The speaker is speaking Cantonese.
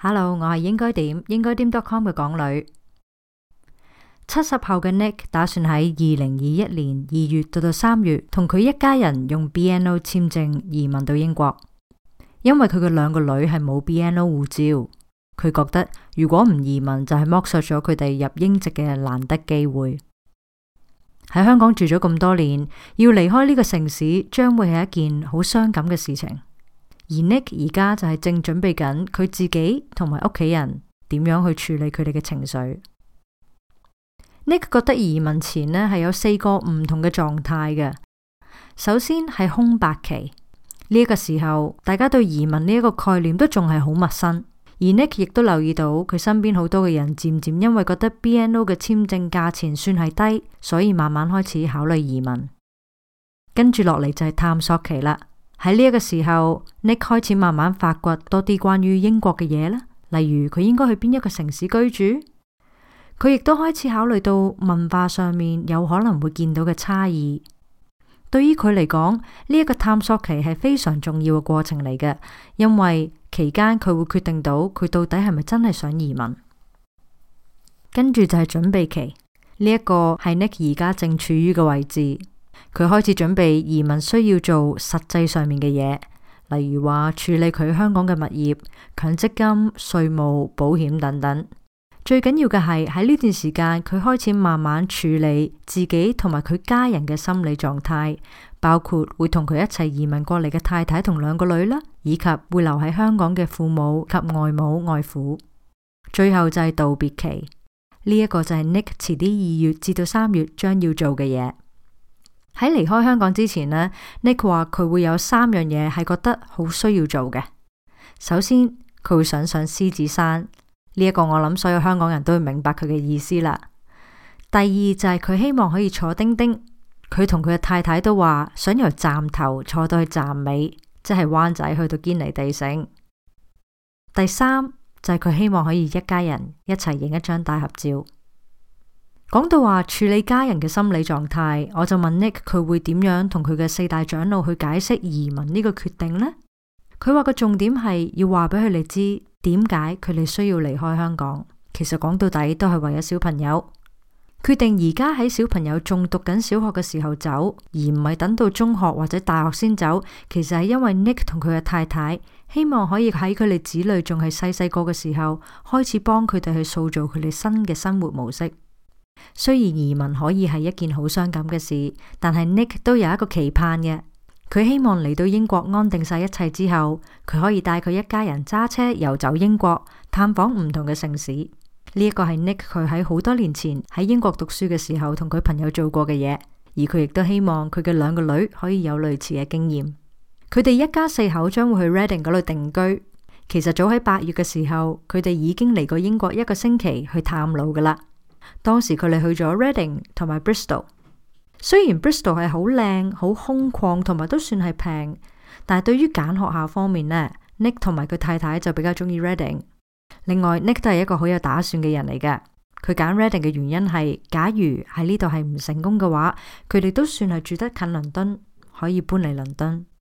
Hello， 我係應該點 .com 嘅港女。70後嘅 Nick 打算喺2021年2月到3月同佢一家人用 BNO 簽證移民到英國，因為佢嘅2個女係冇 BNO 護照，佢覺得如果唔移民就係剝削咗佢哋入英籍嘅難得機會。喺香港住咗咁多年，要離開呢個城市將會係一件好傷感嘅事情。而 Nick 而家就係正準備緊佢自己同埋屋企人點樣去處理佢哋嘅情緒。Nick 覺得移民前呢係有4個唔同嘅狀態嘅。首先係空白期，呢一個時候大家對移民呢一個概念都仲係好陌生，而 Nick 亦都留意到佢身邊好多嘅人漸漸因為覺得 BNO 嘅簽證價錢算係低，所以慢慢開始考慮移民。跟住落嚟就係探索期啦。喺呢一個時候 Nick 開始慢慢發掘多啲關於英國嘅嘢啦，例如佢應該去邊一個城市居住。佢亦都開始考慮到文化上面有可能會見到嘅差異。對於佢嚟講，呢一個探索期係非常重要嘅過程嚟嘅，因為期間佢會決定到佢到底係咪真係想移民。跟住就係準備期，呢一個係 Nick 而家正處於嘅位置。佢開始準備移民需要做實際上面嘅嘢，例如話處理佢香港嘅物業、強積金、稅務、保險等等。最緊要嘅係喺呢段時間，佢開始慢慢處理自己同埋佢家人嘅心理狀態，包括會同佢一齊移民過嚟嘅太太同2個女啦，以及會留喺香港嘅父母及外母外父。最後就係道別期，呢一個就係 Nick 遲啲2月至到3月將要做嘅嘢。喺離開香港之前呢， Nick 話佢會有3樣嘢係覺得好需要做嘅。首先，佢會想上獅子山，呢一個我諗所有香港人都會明白佢嘅意思啦。第二就係佢希望可以坐叮叮，佢同佢嘅太太都話想由站頭坐到去站尾，即係灣仔去到堅尼地城。第三就係佢希望可以一家人一齊影一張大合照。講到話處理家人嘅心理狀態，我就問 Nick 佢會點樣同佢嘅4大長老去解釋移民呢個決定呢？佢話個重點係要話俾佢哋知點解佢哋需要離開香港。其實講到底都係為咗小朋友，決定而家喺小朋友仲讀緊小學嘅時候走，而唔係等到中學或者大學先走。其實係因為 Nick 同佢嘅太太希望可以喺佢哋子女仲係細個嘅時候開始幫佢哋去塑造佢哋新嘅生活模式。雖然移民可以係一件好傷感嘅事，但係 Nick 都有一個期盼嘅。佢希望嚟到英國安定晒一切之後，佢可以帶佢一家人揸車遊走英國，探訪唔同嘅城市。呢一個係 Nick 佢喺好多年前喺英國讀書嘅時候同佢朋友做過嘅嘢，而佢亦都希望佢嘅2個女可以有類似嘅經驗。佢哋一家4口將會去 Reading 嗰度定居。其實早喺8月嘅時候，佢哋已經嚟過英國1個星期去探路噶啦。當時佢哋去咗 Reading 同埋 Bristol。雖然 Bristol 係好靚、好空曠同埋都算係平，但係對於揀學校方面呢， Nick 同埋佢太太就比較中意 Reading。另外 Nick 都係一個好有打算嘅人嚟嘅。佢揀 Reading 嘅原因係，假如喺呢度係唔成功嘅話，佢哋都算係住得近倫敦，可以搬嚟倫敦。